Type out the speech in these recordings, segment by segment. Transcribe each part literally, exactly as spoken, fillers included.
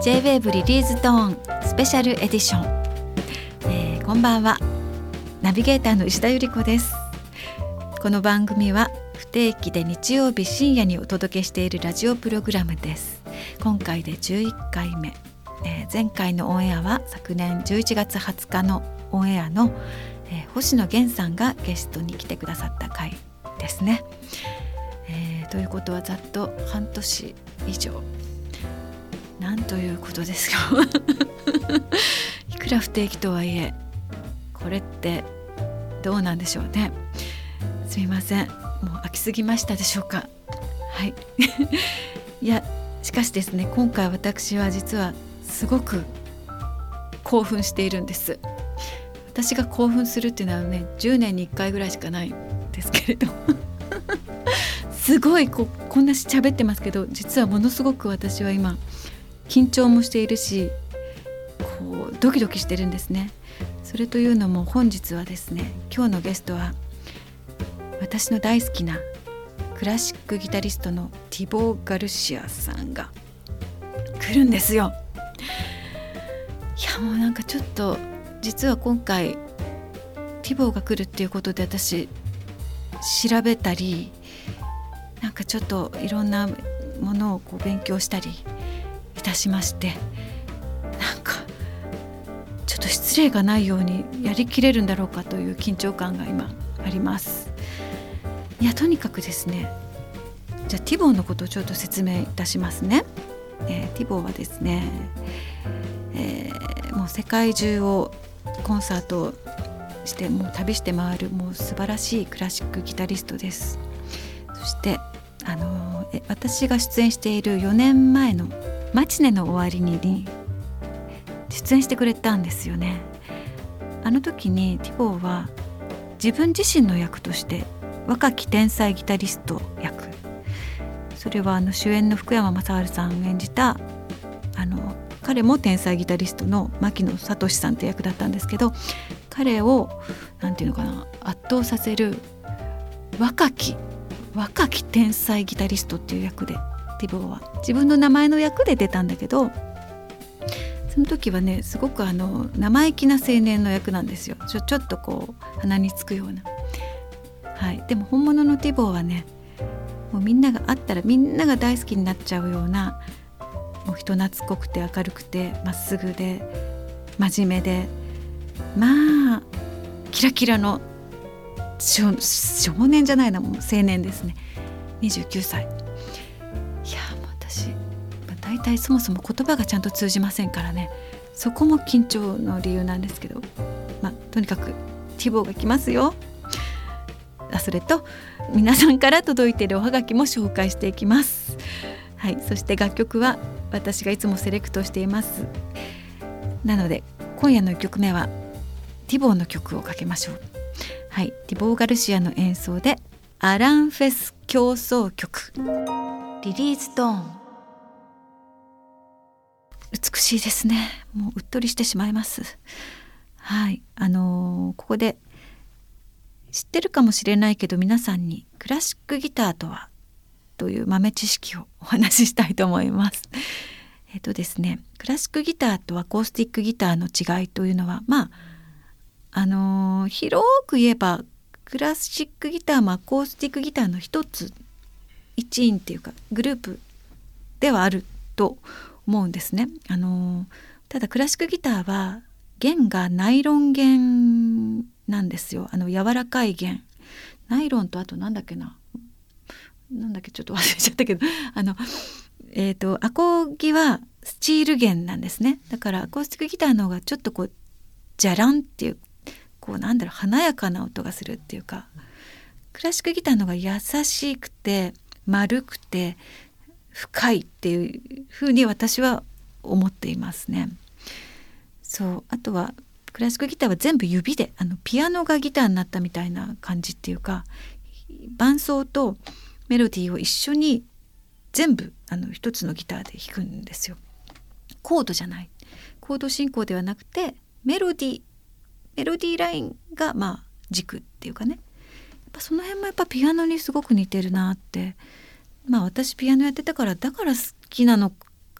ジェイウェーブ リリーズドーンスペシャルエディション、えー、こんばんは。ナビゲーターの石田ゆり子です。この番組は不定期で日曜日深夜にお届けしているラジオプログラムです。今回でじゅういっかいめ、えー、前回のオンエアは昨年じゅういちがつはつかのオンエアの、えー、星野源さんがゲストに来てくださった回ですね。えー、ということはざっと半年以上、なんということですよいくら不定期とはいえこれってどうなんでしょうね。すみません、もう飽きすぎましたでしょうか。はいいやしかしですね、今回私は実はすごく興奮しているんです。私が興奮するっていうのはね、じゅうねんにいっかいぐらいしかないんですけれどすごい こ, こんな喋ってますけど、実はものすごく私は今緊張もしているし、こうドキドキしてるんですね。それというのも本日はですね、今日のゲストは私の大好きなクラシックギタリストのティボー・ガルシアさんが来るんですよ。いやもうなんかちょっと実は今回ティボーが来るっていうことで私調べたり、なんかちょっといろんなものをこう勉強したりいたしまして、なんかちょっと失礼がないようにやりきれるんだろうかという緊張感が今あります。いやとにかくですね、じゃあティボーのことをちょっと説明いたしますね。えー、ティボーはですね、えー、もう世界中をコンサートをしてもう旅して回るもう素晴らしいクラシックギタリストです。そしてあのー、私が出演しているよねんまえのマチネの終わりに出演してくれたんですよね。あの時にティボーは自分自身の役として若き天才ギタリスト役、それはあの主演の福山雅治さん演じたあの彼も天才ギタリストの牧野聡さんって役だったんですけど、彼をなんていうのかな、圧倒させる若き若き天才ギタリストっていう役でティボーは自分の名前の役で出たんだけど、その時はねすごくあの生意気な青年の役なんですよ。ちょ、ちょっとこう鼻につくような、はい、でも本物のティボーはね、もうみんなが会ったらみんなが大好きになっちゃうような、もう人懐っこくて明るくてまっすぐで真面目で、まあキラキラの 少, 少年じゃないな、もう青年ですね。にじゅうきゅうさい。いやもう私大体そもそも言葉がちゃんと通じませんからね、そこも緊張の理由なんですけど、まあ、とにかくティボーが来ますよ。あ、それと皆さんから届いているおはがきも紹介していきます。はい、そして楽曲は私がいつもセレクトしています。なので今夜のいっきょくめはティボーの曲をかけましょう。はい、ティボー・ガルシアの演奏でアランフェス協奏曲リリーズドーン。美しいですね。もううっとりしてしまいます。はい、あのー、ここで知ってるかもしれないけど皆さんにクラシックギターとはという豆知識をお話ししたいと思います。えっとですね、クラシックギターとアコースティックギターの違いというのは、まああのー、広く言えばクラシックギターもアコースティックギターの一つ一員っていうかグループではあると思うんですね。あのー、ただクラシックギターは弦がナイロン弦なんですよ。あの柔らかい弦、ナイロンとあとなんだっけななんだっけちょっと忘れちゃったけどあの、えーと、アコギはスチール弦なんですね。だからアコースティックギターの方がちょっとこうジャランっていうこうなんだろう華やかな音がするっていうか、クラシックギターの方が優しくて丸くて深いっていう風に私は思っていますね。そう、あとはクラシックギターは全部指で、あのピアノがギターになったみたいな感じっていうか、伴奏とメロディーを一緒に全部あの一つのギターで弾くんですよ。コードじゃない、コード進行ではなくてメロディーメロディーラインがまあ軸っていうかね、やっぱその辺もやっぱピアノにすごく似てるなって、まあ私ピアノやってたからだから好きなの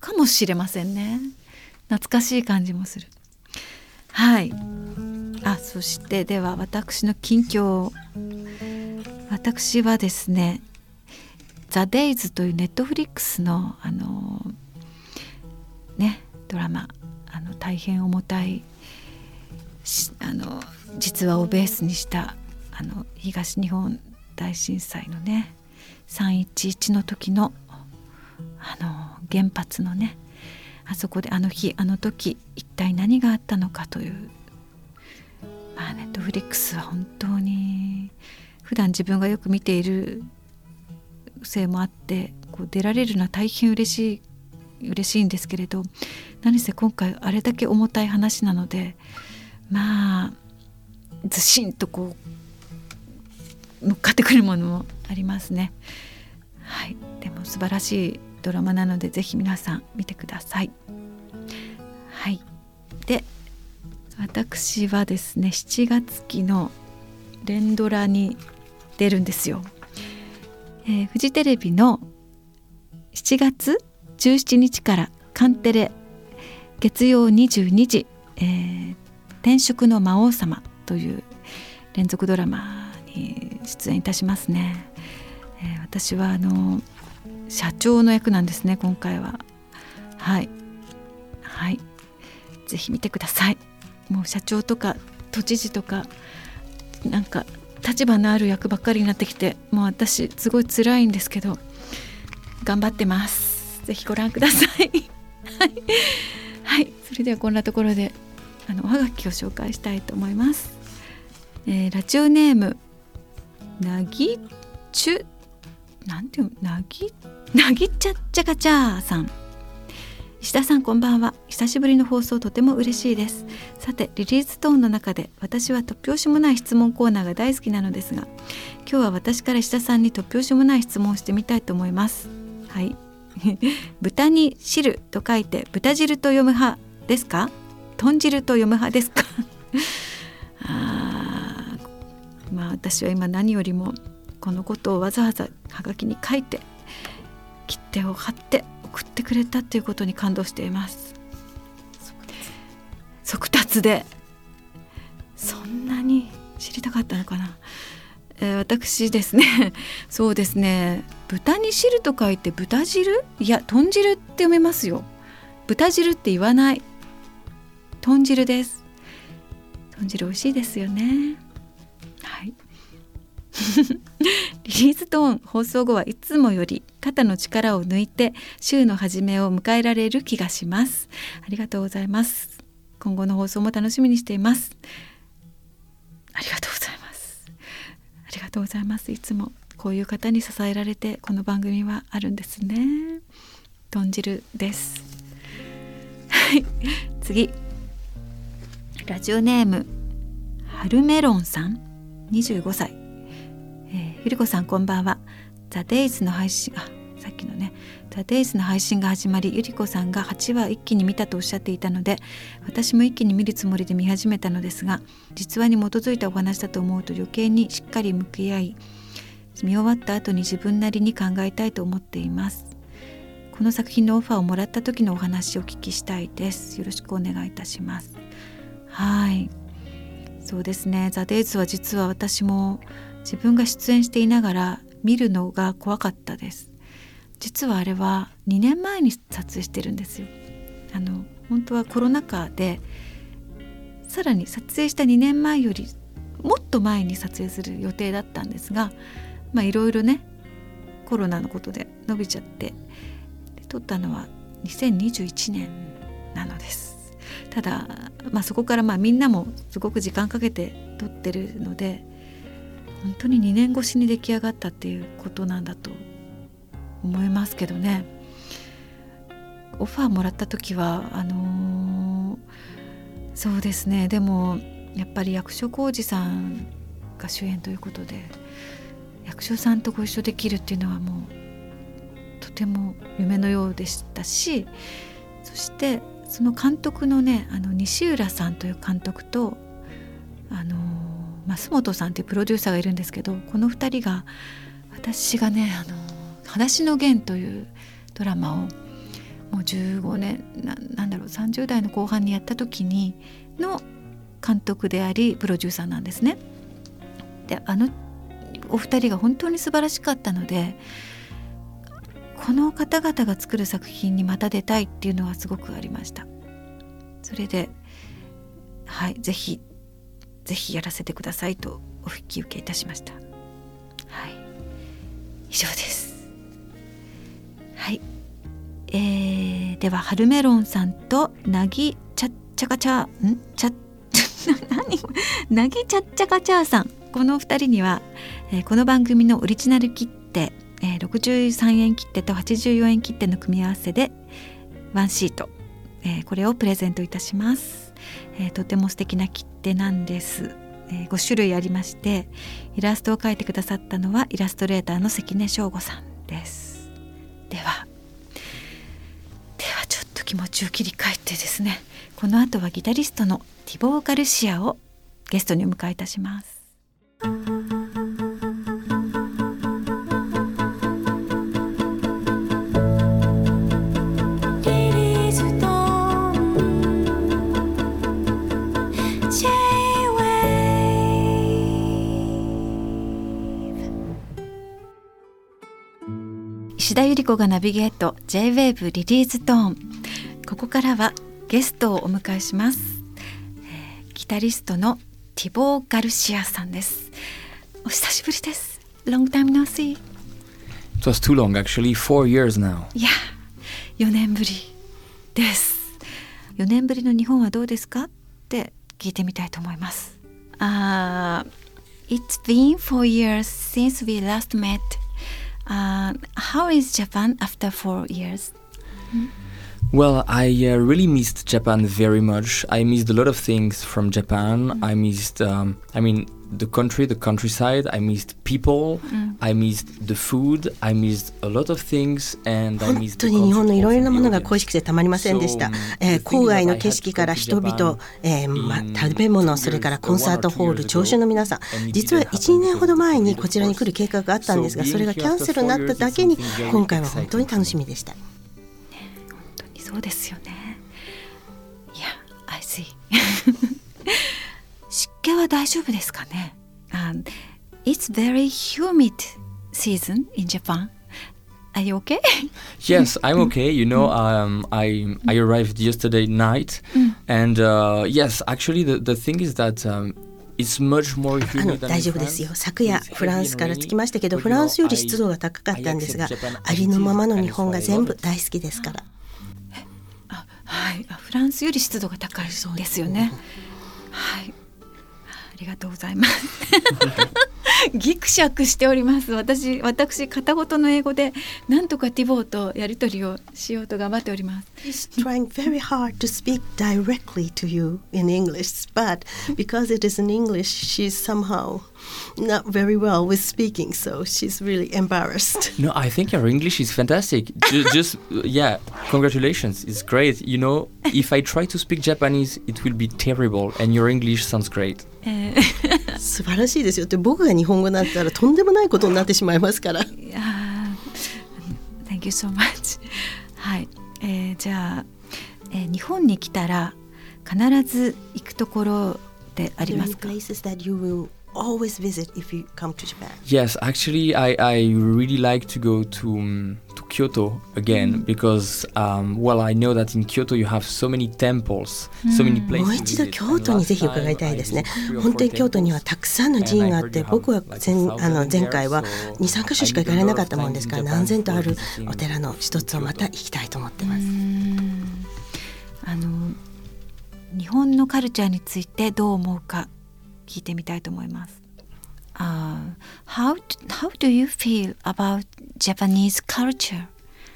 かもしれませんね。懐かしい感じもする。はい。あ、そしてでは私の近況、私はですね、ザ・デイズというネットフリックスのあのねドラマ、あの大変重たいあの実話をベースにしたあの東日本大震災のねさんいちいちの時のあの原発のね、あそこであの日あの時一体何があったのかという、まあネットフリックスは本当に普段自分がよく見ているせいもあってこう出られるのは大変嬉しい嬉しいんですけれど、何せ今回あれだけ重たい話なので、まあずしんとこう乗っかってくるものもありますね。はい、でも素晴らしいドラマなのでぜひ皆さん見てください。はい、で私はですねしちがつ期の連ドラに出るんですよ。えー、フジテレビのしちがつじゅうしちにちからカンテレ月曜にじゅうにじ、えー、転職の魔王様という連続ドラマに出演いたしますね。えー、私はあの社長の役なんですね今回は。はいはい、ぜひ見てください。もう社長とか都知事とかなんか立場のある役ばっかりになってきて、もう私すごい辛いんですけど頑張ってます。ぜひご覧くださいはい、はい、それではこんなところであのおはがきを紹介したいと思います。えー、ラジオネームなぎちゅなんていうなぎなぎちゃっちゃかちゃーさん。石田さんこんばんは。久しぶりの放送とても嬉しいです。さてリリーストーンの中で私は突拍子もない質問コーナーが大好きなのですが、今日は私から石田さんに突拍子もない質問をしてみたいと思います。はい豚に汁と書いて豚汁と読む派ですか、豚汁と読む派ですかあまあ私は今何よりもこのことをわざわざはがきに書いて切手を貼って送ってくれたということに感動しています。速達でそんなに知りたかったのかな。えー、私ですねそうですね、豚に汁と書いて豚汁、いや豚汁って読めますよ。豚汁って言わない、豚汁です。豚汁美味しいですよね。はいリリーストーン放送後はいつもより肩の力を抜いて週の初めを迎えられる気がします。ありがとうございます。今後の放送も楽しみにしています。ありがとうございます。ありがとうございます。いつもこういう方に支えられてこの番組はあるんですね。豚汁ですはい次、ラジオネームはるメロンさんにじゅうごさい。えー、ゆりこさんこんばんは。ザ・デイズの配信、あ、さっきのねザ・デイズの配信が始まり、ゆりこさんがはちわ一気に見たとおっしゃっていたので、私も一気に見るつもりで見始めたのですが、実話に基づいたお話だと思うと余計にしっかり向き合い、見終わった後に自分なりに考えたいと思っています。この作品のオファーをもらった時のお話をお聞きしたいです。よろしくお願いいたします。はい、そうですね、ザ・デイズは実は私も自分が出演していながら見るのが怖かったです。実はあれはにねんまえに撮影してるんですよ。あの本当はコロナ禍でさらに撮影したにねんまえよりもっと前に撮影する予定だったんですが、まあいろいろねコロナのことで伸びちゃって、で撮ったのはにせんにじゅういちねんなのです。ただ、まあ、そこからまあみんなもすごく時間かけて撮ってるので、本当ににねん越しに出来上がったっていうことなんだと思いますけどね。オファーもらった時はあのー、そうですね、でもやっぱり役所広司さんが主演ということで、役所さんとご一緒できるっていうのはもうとても夢のようでしたし、そしてその監督のね、あの西浦さんという監督とあの増本さんというプロデューサーがいるんですけど、このふたりが私がね、あの裸足の弦というドラマをもうじゅうごねん な, なんだろうさんじゅう代の後半にやった時にの監督でありプロデューサーなんですね。であのお二人が本当に素晴らしかったので、この方々が作る作品にまた出たいっていうのはすごくありました。それではい、ぜひぜひやらせてくださいとお引き受けいたしました。はい、以上です。はい、えー、では春メロンさんとなぎちゃっちゃかちゃんちゃ何なぎちゃっちゃかちゃさん、この二人には、えー、この番組のオリジナル切手、えー、ろくじゅうさんえん切手とはちじゅうよんえん切手の組み合わせでワンシート、えー、これをプレゼントいたします。えー、とても素敵な切手なんです。えー、ご種類ありまして、イラストを描いてくださったのはイラストレーターの関根翔吾さんです。ではではちょっと気持ちを切り替えてですね、この後はギタリストのティボー・ガルシアをゲストにお迎えいたします。石田ゆり子がナビゲート ジェイウェーブ リリーズトーン。ここからはゲストをお迎えします。えー、ギタリストのティボー・ガルシアさんです。お久しぶりです。 Long time no see. It was too long actually, four years now. いや、よねんぶりです。よねんぶりの日本はどうですかって聞いてみたいと思います。uh, It's been four years since we last met.Uh, how is Japan after four years? Hmm? Well, I uh, really missed Japan very much. I missed a lot of things from Japan. Mm. I missed, um, I mean, the country, the countryside. I missed people. Mm. I missed the food. I missed a lot of things, and I missed the 本当に日本のいろいろなものが恋しくてたまりませんでした。えー、郊外の景色から人々、えーま、食べ物、それからコンサートホール、聴衆の皆さん。実はいち、にねんほど前にこちらに来る計画があったんですが、それがキャンセルになっただけに今回は本当に楽しみでした。 ね、本当にそうですよね。いや、I see 湿気は大丈夫ですかね。um, It's very humid season in Japan. Are you okay? Yes, I'm okay. You know, um, I I arrived yesterday night, and uh, yes, actually, the the thing is that. Um, It's much more humid than 大丈夫ですよ。昨夜フランスから着きましたけど、フランスより湿度が高かったんですが、ありのままの日本が全部大好きですから。 あ、はい、フランスより湿度が高いですよね。はい、ありがとうございます。ギクシャクしております。私、私片言の英語でなんとかティボーとやり取りをしようと頑張っております。 He's trying very hard to speak directly to you in English, but because it is in English, she's somehow not very well with speaking, so she's really embarrassed. No, I think your English is fantastic. just, just, yeah, congratulations. It's great. You know, if I try to speak Japanese, it will be terrible, and your English sounds great. 素晴らしいですよって、僕が日本語になったらとんでもないことになってしまいますから。 いや、Thank you so much. はい、えー、じゃあ、えー、日本に来たら必ず行くところでありますか？ Places that you will always visit if you come to Japan. Yes, actually, I I really like to go to um, to Kyoto again because um, well, I know that in Kyoto you have so many temples, so many places. もう一度京都にぜひ伺いたいですね。本当に京都にはたくさんの寺院があって、僕は前あの前回はに、さんかしょしか行かれなかったもんですから、何千とあるお寺の一つをまた行きたいと思ってます。 あの日本のカルチャーについてどう思うか聞いてみたいと思います。Uh, how, how do you feel about Japanese culture?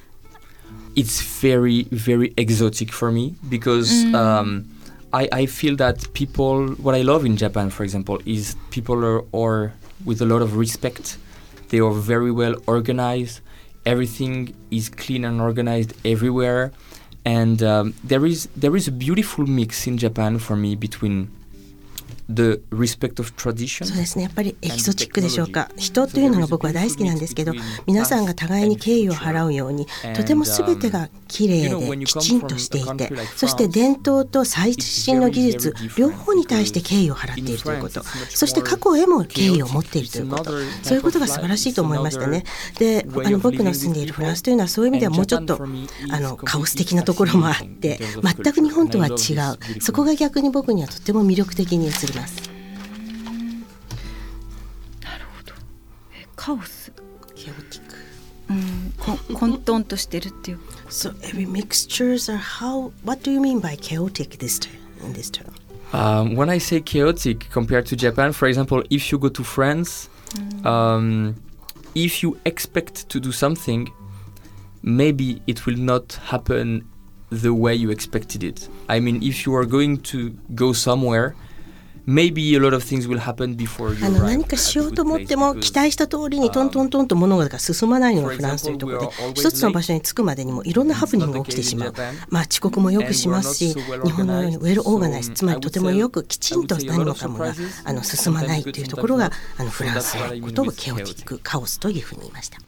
It's very, very exotic for me because mm. um, I, I feel that people, what I love in Japan, for example, is people are, are with a lot of respect. They are very well organized. Everything is clean and organized everywhere. And um, there is there is a beautiful mix in Japan for me between the respect of tradition. そうですね、やっぱりエキゾチックでしょうか。人というのが僕は大好きなんですけど、皆さんが互いに敬意を払うように、とても全てがきれいできちんとしていて、そして伝統と最新の技術両方に対して敬意を払っているということ、そして過去へも敬意を持っているということ、そういうことが素晴らしいと思いましたね。で、あの僕の住んでいるフランスというのはそういう意味ではもうちょっとあのカオス的なところもあって、全く日本とは違う、そこが逆に僕にはとても魅力的に映ります。 なるほど。え、カオス、 ケオティック、 うん、混沌としてるっていう。 So every mixtures are how. What do you mean by chaotic this term, in this term? Um, when I say chaotic compared to Japan, for example, if you go to France, mm. um, if you expect to do something, maybe it will not happen the way you expected it. I mean, if you are going to go somewhere, maybe a lot of things will happen before you arrive. あの何かしようと思っても期待した通りにトントントンと物事が進まないのがフランスというところで、一つの場所に着くまでにもいろんなハプニングが起きてしまう。まあ遅刻もよくしますし、日本のようにウェルオーガナイズ、つまりとてもよくきちんと何もかもがあの進まないというところがあのフランスのことをケオティック、カオスというふうに言いました。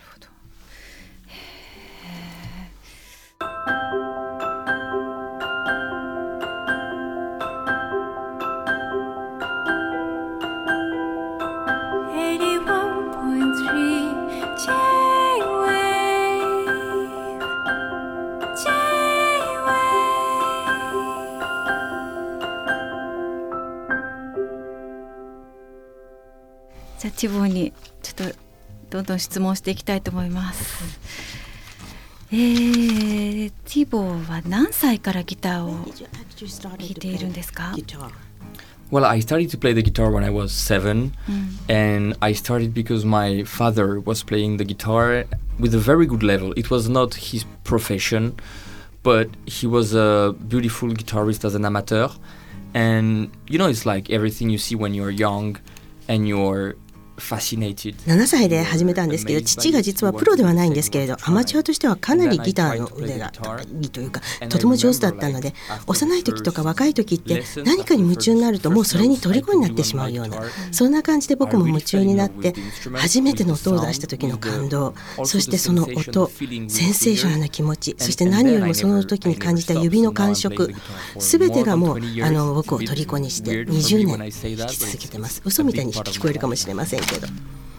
じゃあティボーにちょっとどんどん質問していきたいと思います。えー、ティボーは何歳からギターを弾いているんですか ？Well, I started to play the guitar when I was seven, mm. and I started because my father was playing the guitar with a very good level. It was not his profession, but he was a beautiful guitarist as an amateur. And, you know, it's like everything you see when you're young and you're ななさいで始めたんですけど、父が実はプロではないんですけれど、アマチュアとしてはかなりギターの腕が高いというか、とても上手だったので、幼い時とか若い時って何かに夢中になるともうそれに虜になってしまうような、そんな感じで僕も夢中になって、初めての音を出した時の感動、そしてその音、センセーショナルな気持ち、そして何よりもその時に感じた指の感触、すべてがもうあの僕を虜にしてにじゅうねん弾き続けてます。嘘みたいに聞こえるかもしれませんけど、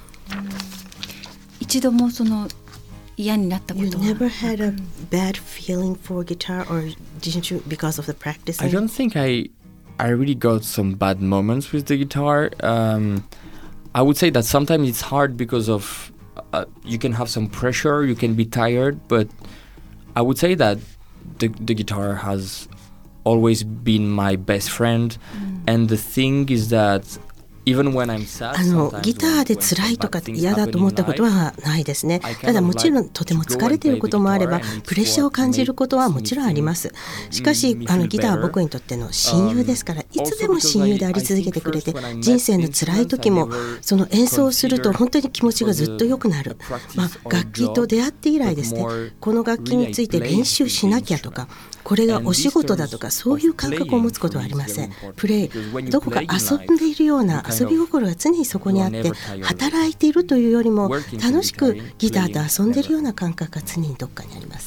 一度もその嫌になったことは You never had a bad feeling for guitar, or didn't you because of the practice? I don't think I I really got some bad moments with the guitar. Um, I would say that sometimes it's hard because of uh, you can have some pressure, you can be tired, but I would say that the the guitar has always been my best friend, mm. and the thing is thatあのギターで辛いとか嫌だと思ったことはないですね。ただもちろんとても疲れていることもあれば、プレッシャーを感じることはもちろんあります。しかしあのギターは僕にとっての親友ですから、いつでも親友であり続けてくれて、人生の辛い時もその演奏をすると本当に気持ちがずっと良くなる。まあ、楽器と出会って以来ですね、この楽器について練習しなきゃとか、これがお仕事だとかそういう感覚を持つことはありません。プレイ、どこか遊んでいるような遊び心が常にそこにあって、働いているというよりも楽しくギターと遊んでいるような感覚が常にどっかにあります。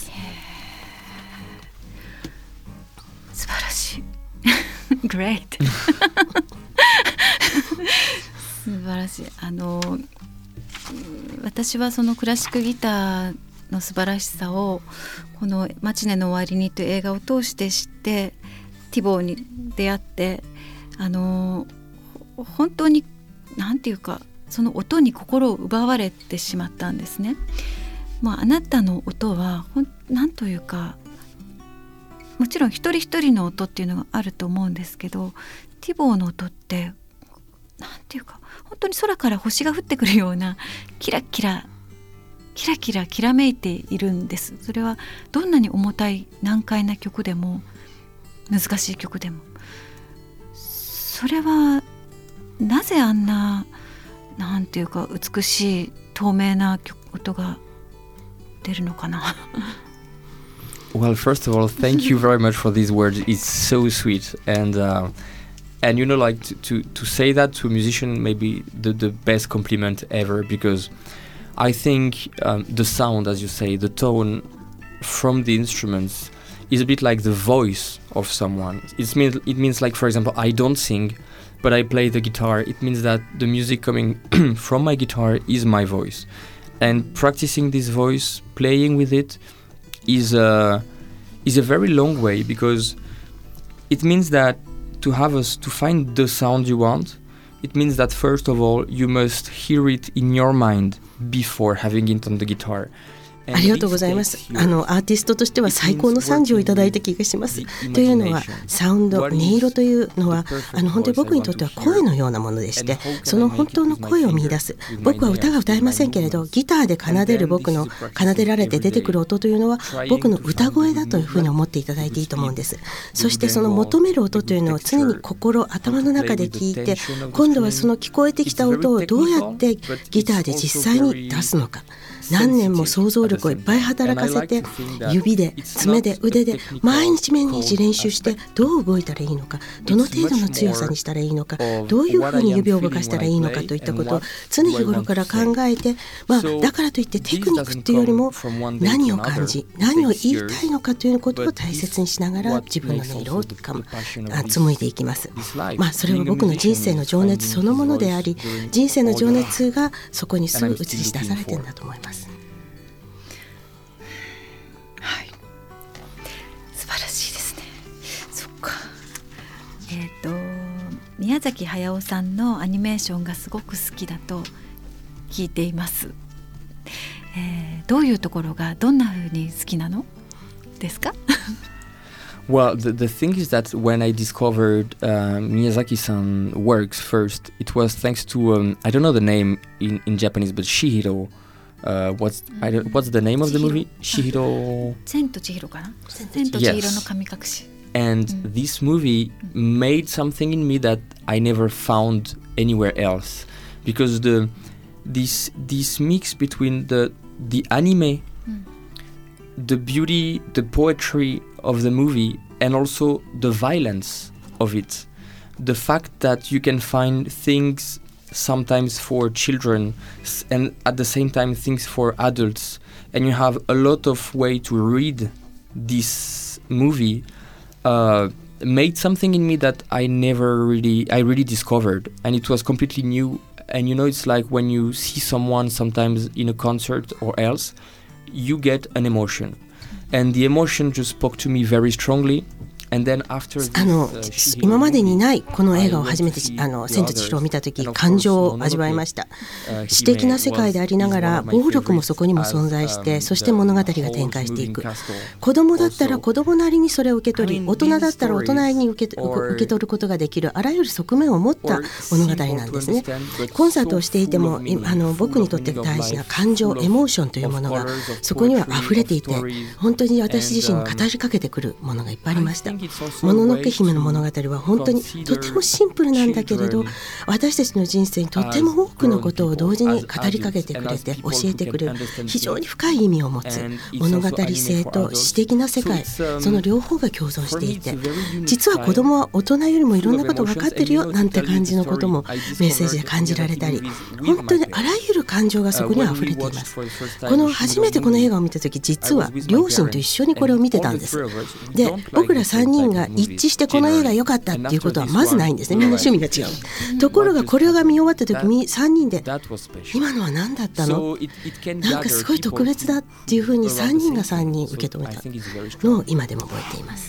素晴らしいGreat 素晴らしい。あの私はそのクラシックギターの素晴らしさをこのマチネの終わりにという映画を通して知って、ティボーに出会って、あの本当になんていうか、その音に心を奪われてしまったんですね。まあ、あなたの音はほんなんというか、もちろん一人一人の音っていうのがあると思うんですけど、ティボーの音ってなんていうか、本当に空から星が降ってくるようなキラキラキラキラきらめいているんです。それはどんなに重たい難解な曲でも難しい曲でも、それはなぜあんななんていうか美しい透明な音が出るのかな Well, first of all, thank you very much for these words. It's so sweet, and uh, And you know, like to, to, to say that to a musician may be the, the best compliment ever, because I think um, the sound, as you say, the tone from the instruments is a bit like the voice of someone. It means, it means like, for example, I don't sing, but I play the guitar. It means that the music coming from my guitar is my voice. And practicing this voice, playing with it, is a, is a very long way, because it means that to have us, to find the sound you want, it means that first of all, you must hear it in your mind before having it on the guitar. ありがとうございます。あのアーティストとしては最高の賛辞をいただいた気がします。というのはサウンド、音色というのはあの本当に僕にとっては声のようなものでして、その本当の声を見出す。僕は歌が歌えませんけれど、ギターで奏でる僕の奏でられて出てくる音というのは僕の歌声だというふうに思っていただいていいと思うんです。そしてその求める音というのを常に心、頭の中で聞いて、今度はその聞こえてきた音をどうやってギターで実際に出すのか。何年も想像力をいっぱい働かせて、指で爪で腕で毎日毎日練習して、どう動いたらいいのか、どの程度の強さにしたらいいのか、どういうふうに指を動かしたらいいのかといったことを常日頃から考えて、まあ、だからといってテクニックっていうよりも何を感じ、何を言いたいのかということを大切にしながら自分の音色を紡いでいきます。まあ、それは僕の人生の情熱そのものであり、人生の情熱がそこにすぐ映し出されてるんだと思います。 えー、と宮崎駿さんのアニメーションがすごく好きだと聞いています、えー、どういうところがどんな風に好きなのですか Well, the, the thing is that when I discovered uh, Miyazaki-san works first, it was thanks to, um, I don't know the name in, in Japanese, but Shihiro. Uh, what's, I don't, what's the name of the movie? Shihiro? 千と千尋かな千と千尋の神隠し。 And mm. this movie made something in me that I never found anywhere else, because the this this mix between the the anime, mm. the beauty, the poetry of the movie, and also the violence of it, the fact that you can find things sometimes for children and at the same time things for adults, and you have a lot of way to read this movie. Uh, made something in me that I never really, I really discovered, and it was completely new. And you know, it's like when you see someone sometimes in a concert or else, you get an emotion, and the emotion just spoke to me very strongly. あの今までにないこの映画を初めてあの千と千尋を見たとき感情を味わいました。詩的な世界でありながら暴力もそこにも存在して、そして物語が展開していく。子供だったら子供なりにそれを受け取り、大人だったら大人なりに受け、受け取ることができるあらゆる側面を持った物語なんですね。コンサートをしていてもあの僕にとって大事な感情、エモーションというものがそこには溢れていて、本当に私自身に語りかけてくるものがいっぱいありました。もののけ姫の物語は本当にとてもシンプルなんだけれど、私たちの人生にとても多くのことを同時に語りかけてくれて教えてくれる非常に深い意味を持つ物語性と詩的な世界、その両方が共存していて、実は子供は大人よりもいろんなこと分かってるよなんて感じのこともメッセージで感じられたり、本当にあらゆる感情がそこには溢れています。この初めてこの映画を見た時、実は両親と一緒にこれを見てたんです。で、僕らさんにんが一致してこの映画良かったっていうことはまずないんですね。みんな趣味が違う。ところがこれが見終わった時にさんにんで今のは何だったの、なんかすごい特別だっていうふうにさんにんがさんにん受け止めたのを今でも覚えています。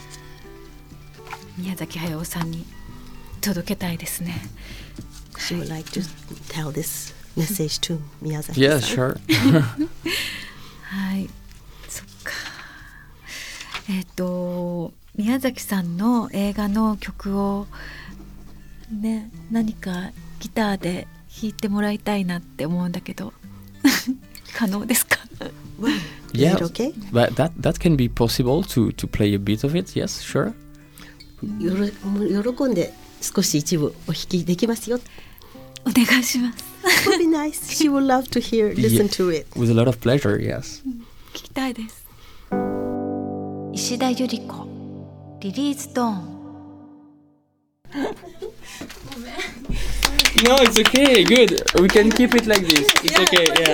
宮崎駿さんに届けたいですね。 She would like to tell this message to 宮崎さん。Yeah, sure. はい、そっか。えっと宮崎さんの映画の曲をね、何かギターで弾いてもらいたいなって思うんだけど可能ですか ？Yeah, okay? but that that can be possible to to play a bit of it. Yes, sure. よろ喜んで少し一部お弾きできますよ。 お願いします。 Would be nice. She would love to hear, listen to it. With a lot of pleasure, yes. 聞きたいです。石田ゆり子リリーストーン。 No, it's okay. Good. We can keep it like this. It's okay. Yeah.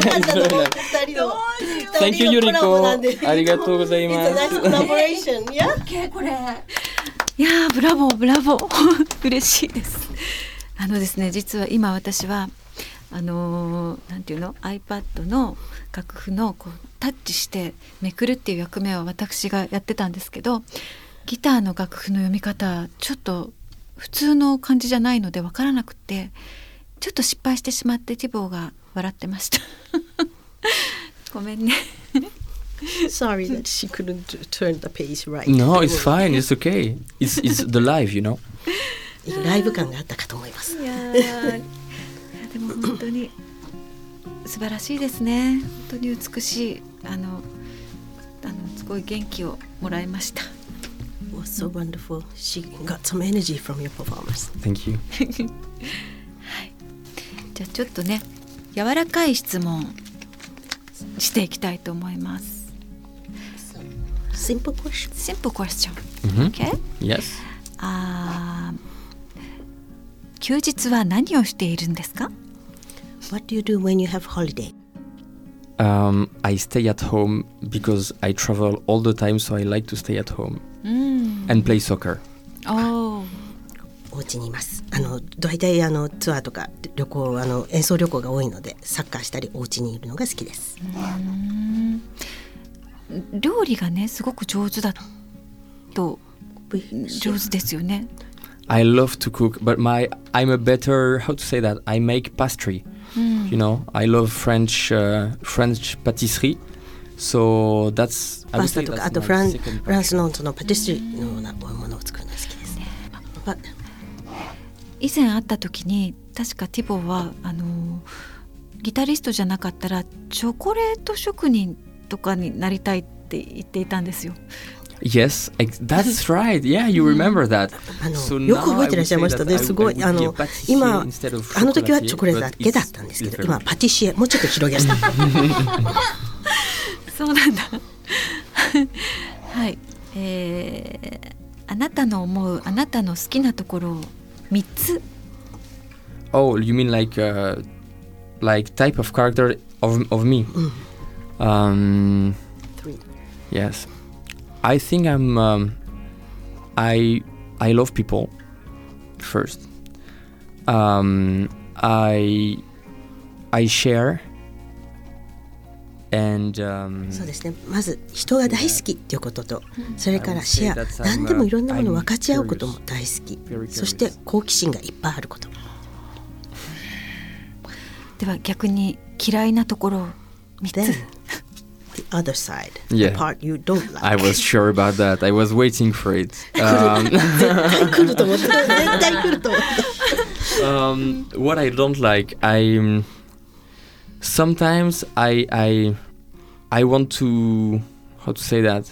Thank you, Yuriko. ありがとうございます。 It's a nice collaboration. Yeah. OK これ。いやーブラボーブラボー嬉しいです。あのですね実は今私はあのー、なんていうの iPad の楽譜のこうタッチしてめくるっていう役目を私がやってたんですけど、ギターの楽譜の読み方ちょっと普通の感じじゃないので分からなくてちょっと失敗してしまってティボーが笑ってましたごめんね Sorry that she couldn't turn the page right. No, it's fine. It's okay. It's it's the live, you know. ライブ感があったかと思います。 いやいやでも本当に素晴らしいですね。本当に美しいあのあのすごい元気をもらいました。 Was so wonderful. She got some energy from your performance. Thank you. はい。じゃあちょっとね柔らかい質問していきたいと思います。 Simple question. Simple question. Mm-hmm. Okay? Yes. あ休日は何をしているんですか？ What do you do when you have holiday? Um, I stay at home because I travel all the time, so I like to stay at home and play soccer. Oh. お家にいます。あの大体あのツアーとか旅行あの演奏旅行が多いのでサッカーしたりお家にいるのが好きです。 うん料理がねすごく上手だと上手ですよね。 I love to cook, but my I'm a better how to say that I make pastry. Mm. You know, I love French uh, French patisserie. So that's パスタとかあとフランフランスのそのパティスリーのようなものを作るのが好きですね。But 以前会った時に確かティボーはあのギタリストじゃなかったらチョコレート職人とかになりたいって言っていたんですよ。 Yes, that's right. Yeah, you remember that. あのよく覚えてらっしゃいましたね。すごいあの今あの時はチョコレートだけだったんですけど、今パティシエもうちょっと広げました。 そうなんだ。はい、えー。あなたの思うあなたの好きなところをみっつ。 Oh, you mean like uh, like type of character of of me? Um, Three. Yes. I think I'm. Um, I I love people. First, um, I I share, and um, そうですね。まず人が大好きっていうことと、それからシェア、何でもいろんなものを分かち合うことも大好き。そして好奇心がいっぱいあること。 では逆に嫌いなところをみっつ。 The other side, yeah. the part you don't like. I was sure about that. I was waiting for it. Um, 来ると思った。絶対来ると思った。 um, what I don't like, I sometimes I I I want to how to say that.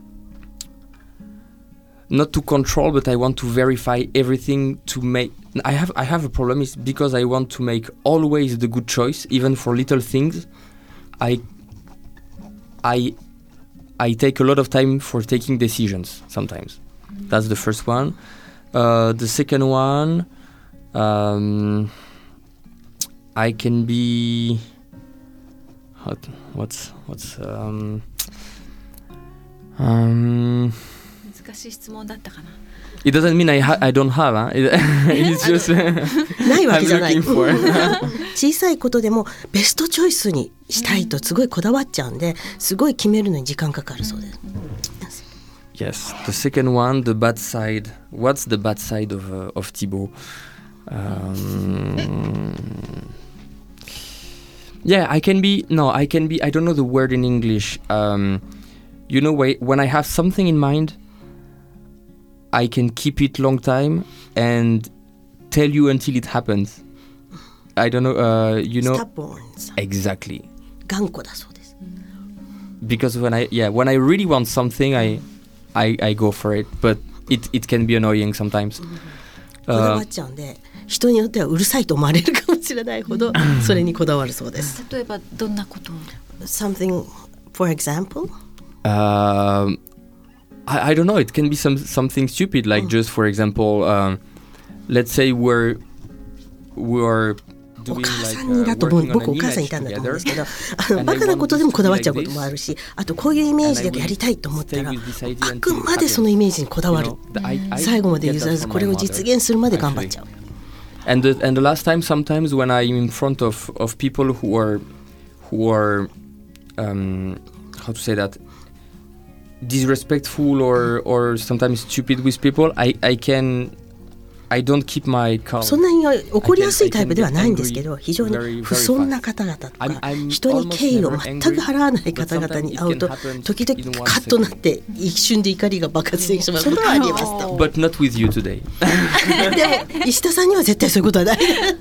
Not to control, but I want to verify everything to make. I have I have a problem. Is because I want to make always the good choice, even for little things. I. I I take a lot of time for taking decisions sometimes. Mm-hmm. That's the first one. Uh, the second one, um, I can be what, what's what's um, um, 難しい質問だったかな。 It doesn't mean I ha- I don't have. Huh? It, it's just ないわけじゃない。 I'm looking for. 小さいことでもベストチョイスにしたいとすごいこだわっちゃうんで、すごい決めるのに時間かかるそうです。 Yes, the second one, the bad side. What's the bad side of uh, of Thibaut? Um, yeah, I can be. No, I can be. I don't know the word in English. Um, you know, when I have something in mind, I can keep it long time and tell you until it happens. I don't know. Uh, you know. Stubborn. Exactly. 頑固だそうです。 Because when I yeah when I really want something, I I I go for it. But it it can be annoying sometimes. こだわっちゃうんで、人によってはうるさいと思われるかもしれないほどそれにこだわるそうです。 例えばどんなこと？ Something, for example. Um. I, I don't know. It can be some something stupid, like just for example, um, let's say we're we're お母さんにだと思う僕お母さんいたんだと思うんですけどあのバカなことでもこだわっちゃうこともあるしあとこういうイメージでやりたいと思ったらあくまでそのイメージにこだわる最後まで譲らずこれを実現するまで頑張っちゃう And the, and the last time sometimes when I'm in front of, of people who are who are um, how to say that disrespectful or, or sometimes stupid with people I, I can I don't keep my calm. そんなに怒りやすいタイプではないんですけど非常に不遜な方々とか人に敬意を全く払わない方々に会うと時々カッとなって一瞬で怒りが爆発してしまうことはありますと But not with you today. でも石田さんには絶対そういうことはない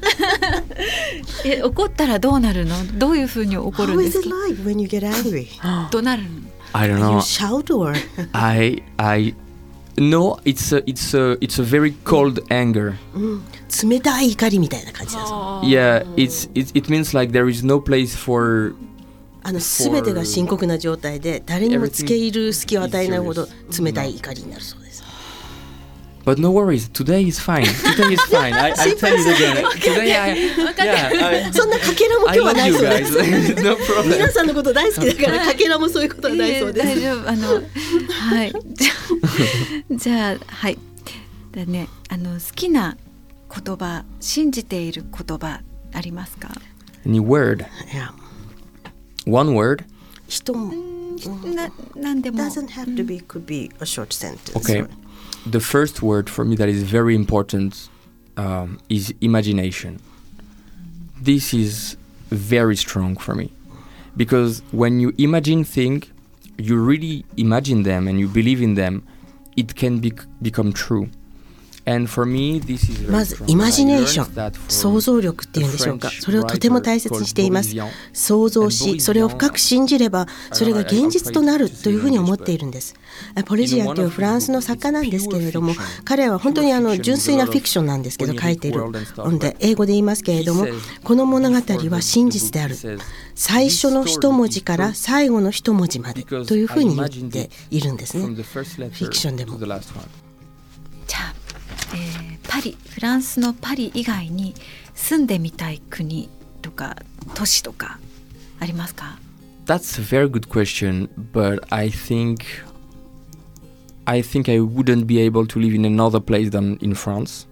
え怒ったらどうなるのどういうふうに怒るんですか How is it like when you get angry? どうなるの I don't know. You shout or? I I No, it's a, it's a, it's a very cold anger. うん、冷たい怒りみたいな感じです。 Yeah, it's, it, it means like there is no place for あの全てが深刻な状態で誰にも付け入る隙を与えないほど冷たい怒りになるそうです。 But no worries, today is fine. Today is fine. I, I'll tell you again. Today I, yeah, I, そんなかけらも今日はないそうです。 no problem. 皆さんのこと大好きだからかけらもそういうことはないそうです。 大丈夫あのはいじゃあはいだねあの好きな言葉信じている言葉ありますか Any word? Yeah. One word? 人もななんでも Doesn't have to be, could be a short sentence. Okay.The first word for me that is very important um, is imagination. This is very strong for me because when you imagine things, you really imagine them and you believe in them, it can be, become true. And for me, this is very strong. まずイマジネーション、想像力っていうんでしょうか。それをとても大切にしています。想像し、それを深く信じれば、それが現実となるというふうに思っているんです。ポレジアというフランスの作家なんですけれども、彼は本当にあの純粋なフィクションなんですけど書いているので英語で言いますけれども、この物語は真実である。最初の一文字から最後の一文字までというふうに言っているんですね。フィクションでも。じゃあえー、パリフランスのパリ以外に住んでみたい国とか都市とかありますか That's a very good question, but I think I think I wouldn't be able to live in another place than in France.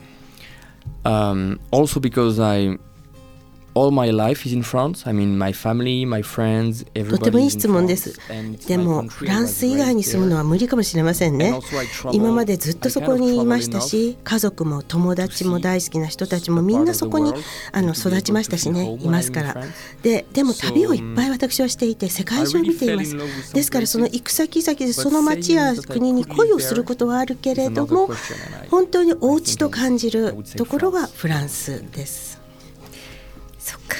Um, also because I all my life is in France. I mean, my family, my friends, everybody. とてもいい質問です。でもフランス以外に住むのは無理かもしれませんね。今までずっとそこにいましたし、家族も友達も大好きな人たちもみんなそこにあの育ちましたしね、いますから。で、でも旅をいっぱい私はしていて世界中を見ています。ですからその行く先々でその町や国に恋をすることはあるけれども、本当にお家と感じるところはフランスです。 そっか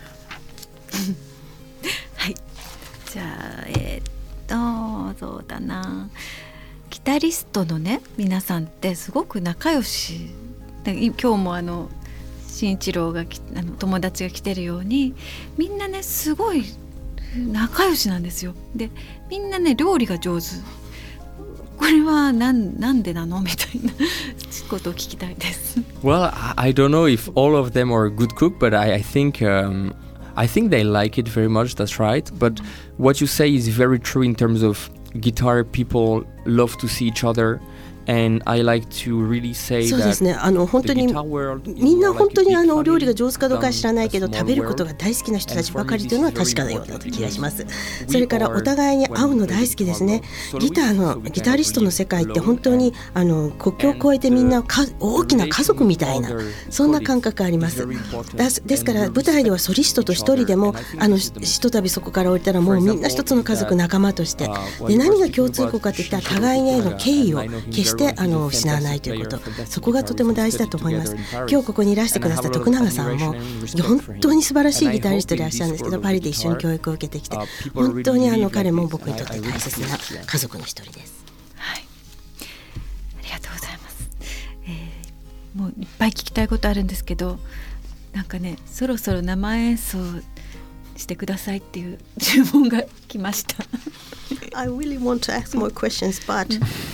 はいじゃあえー、っとそうだなギタリストのね皆さんってすごく仲良し今日もあの慎一郎があの友達が来てるようにみんなねすごい仲良しなんですよ。でみんなね料理が上手これはなん、なんでなのみたいなことを聞きたいです。 Well, I don't know if all of them are a good cook, but I, I think um, I think they like it very much. That's right. But what you say is very true in terms of guitar. People love to see each other.And I like to really say そうですね。あの本当にみんな本当にあのお料理が上手かどうかは知らないけど食べることが大好きな人たちばかりというのは確かなような気がします。それからお互いに会うの大好きですね。ギターのギタリストの世界って本当にあの国境を越えてみんなか大きな家族みたいなそんな感覚あります。ですから舞台ではソリストと一人でもあのひとたびそこから降りたらもうみんな一つの家族仲間としてで何が共通項かといったら互いへの敬意を決してしてあの失わないということそこがとても大事だと思います。今日ここにいらしてくださった徳永さんも本当に素晴らしいギタリストでいらっしゃるんですけどパリで一緒に教育を受けてきて本当にあの彼も僕にとって大切な家族の一人です。 はい、ありがとうございます、えー、もういっぱい聞きたいことあるんですけどなんかねそろそろ生演奏してくださいっていう注文が来ました。 I really want to ask more questions, but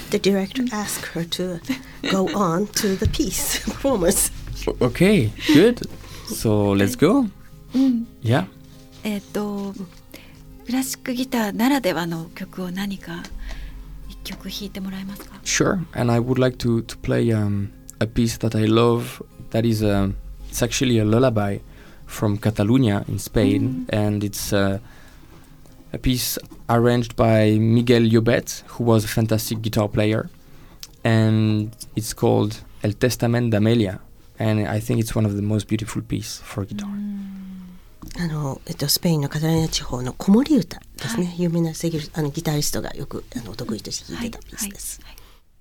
the director asked her to go on to the piece performance. Okay, good. So let's go. うん、 Yeah. えっとクラシックギターならではの曲を何か一曲弾いてもらえますか？ Sure. And I would like to to play um, a piece that I love. That is a, it's actually a lullaby from Catalonia in Spain, mm. and it's uh, a piece arranged by Miguel Llobet, who was a fantastic guitar player, and it's called El Testament d'Amelia, and I think it's one of the most beautiful pieces for guitar. Mm. あのえっと、スペインのカタルーニャ地方の子守歌ですね、はい、有名なセギルあのギタリストがよくあのお得意として弾いてたピースです、はいはいはい。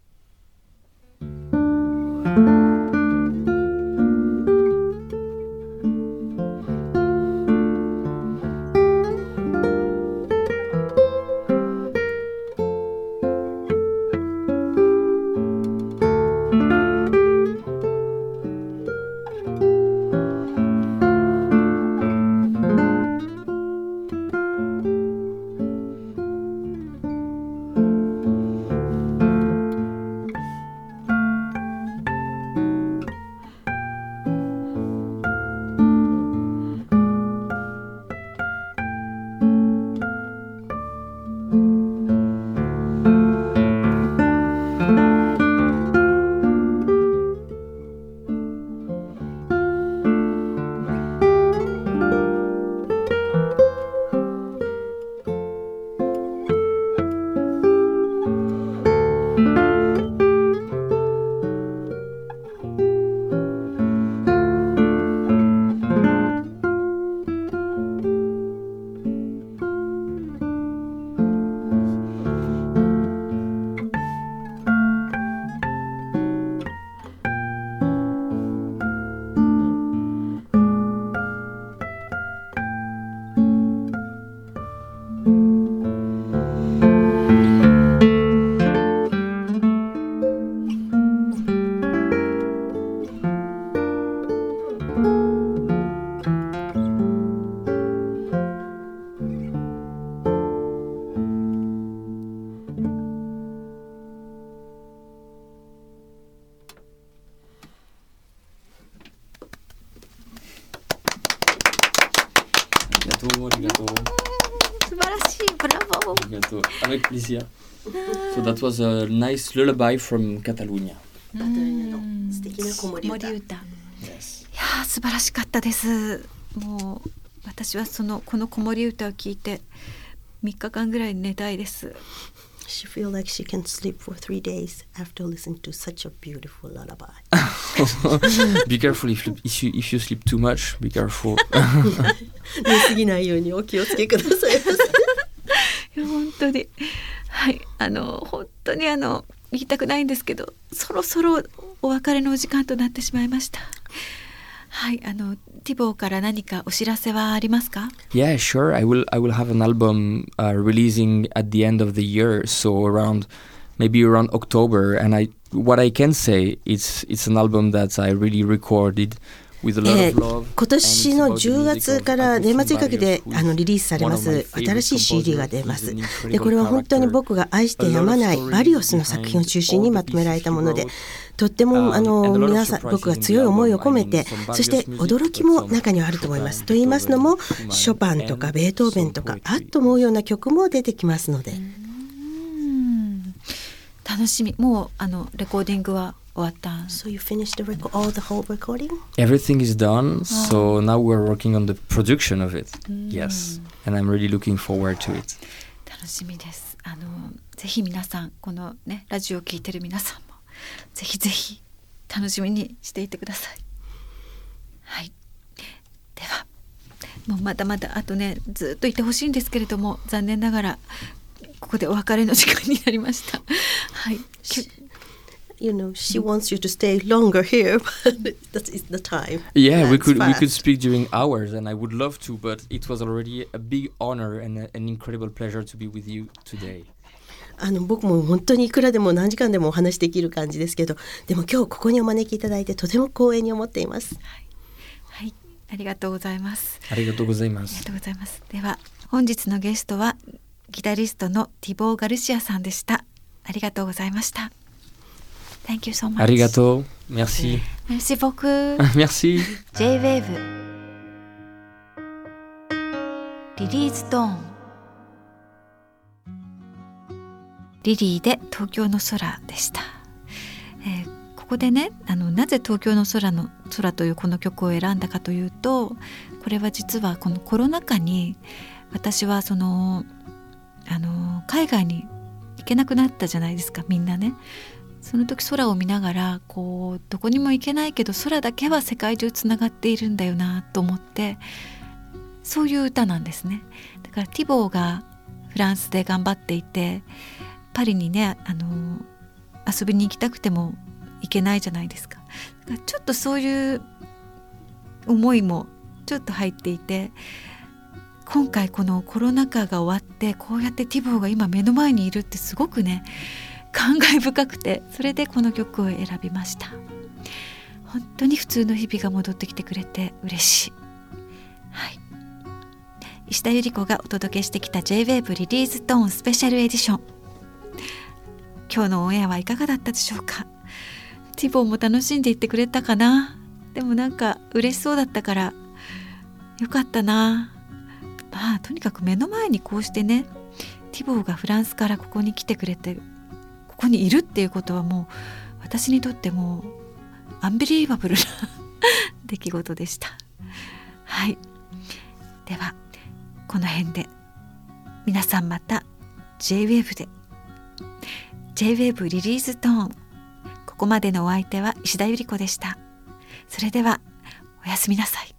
素晴らしい、ブラボー。 ありがとう。Avec plaisir. So that was a nice lullaby from Catalonia. カタルーニャの素敵な子守歌。 Yes. いや素晴らしかったです。もう私はそのこの子守歌を聞いてみっかかんぐらい寝たいです。 She feels like she can sleep for three days after listening to such a beautiful lullaby. Be careful if you, if you if you sleep too much. Be careful. 寝すぎないようにお気をつけください。 いや本当にはいあの本当にあの言いたくないんですけど、そろそろお別れのお時間となってしまいました。はい、あのティボーから何かお知らせはありますか？ Yeah, sure. I will. I will have an album uh, releasing at the end of the year, so around maybe around October. And I, what I can say, it's it's an album that I really recorded with a lot of love. 今年のじゅうがつから年末にかけてあのリリースされます新しい シーディー が出ます。で、これは本当に僕が愛してやまないバリオスの作品を中心にまとめられたもので。とってもあの皆さん僕が強い思いを込めて、そして驚きも中にはあると思います。と言いますのもショパンとかベートーベンとかあっと思うような曲も出てきますので、 うん楽しみ。もうあのレコーディングは終わった。 So you finished the record, all the whole recording? Everything is done. So now we're working on the production of it. Yes, and I'm really looking forward to it. 楽しみです。あのぜひ皆さんこのねラジオを聞いてる皆さんもぜひぜひ楽しみにしていてください。はい。では、もうまだまだあとねずっといてほしいんですけれども、残念ながらここでお別れの時間になりました。はい。 You know, she wants you to stay longer here, but that is the time. Yeah, we could we could speak during hours, and I would love to, but it was already a big honor and a, an incredible pleasure to be with you today. あの僕も本当にいくらでも何時間でもお話できる感じですけど、でも今日ここにお招きいただいてとても光栄に思っています。 はい、はい、ありがとうございます。 ありがとうございます。 ありがとうございます。では本日のゲストはギタリストのティボー・ガルシアさんでした。 ありがとうございました。 Thank you so much. ありがとう。Merci. Merci beaucoup. Merci. ジェイウェーブ リリーズトーン、リリーで東京の空でした。えー、ここでね、あのなぜ東京の空の空というこの曲を選んだかというと、これは実はこのコロナ禍に私はそのあの海外に行けなくなったじゃないですか、みんなね。その時空を見ながら、こうどこにも行けないけど空だけは世界中つながっているんだよなと思って、そういう歌なんですね。だからティボーがフランスで頑張っていて、パリにね、あの遊びに行きたくても行けないじゃないですか。だからちょっとそういう思いもちょっと入っていて、今回このコロナ禍が終わってこうやってティボーが今目の前にいるってすごくね感慨深くて、それでこの曲を選びました。本当に普通の日々が戻ってきてくれて嬉しい。はい、石田ゆり子がお届けしてきた ジェイウェーブ リリーズトーンスペシャルエディション。今日のオンエアはいかがだったでしょうか。ティボーも楽しんでいってくれたかな。でもなんか嬉しそうだったからよかったな。まあとにかく目の前にこうしてね、ティボーがフランスからここに来てくれて、ここにいるっていうことはもう私にとってもアンビリーバブルな出来事でした。はい、ではこの辺で皆さんまた ジェイウェーブ で ジェイウェーブ リリーズトーン。ここまでのお相手は石田ゆり子でした。それではおやすみなさい。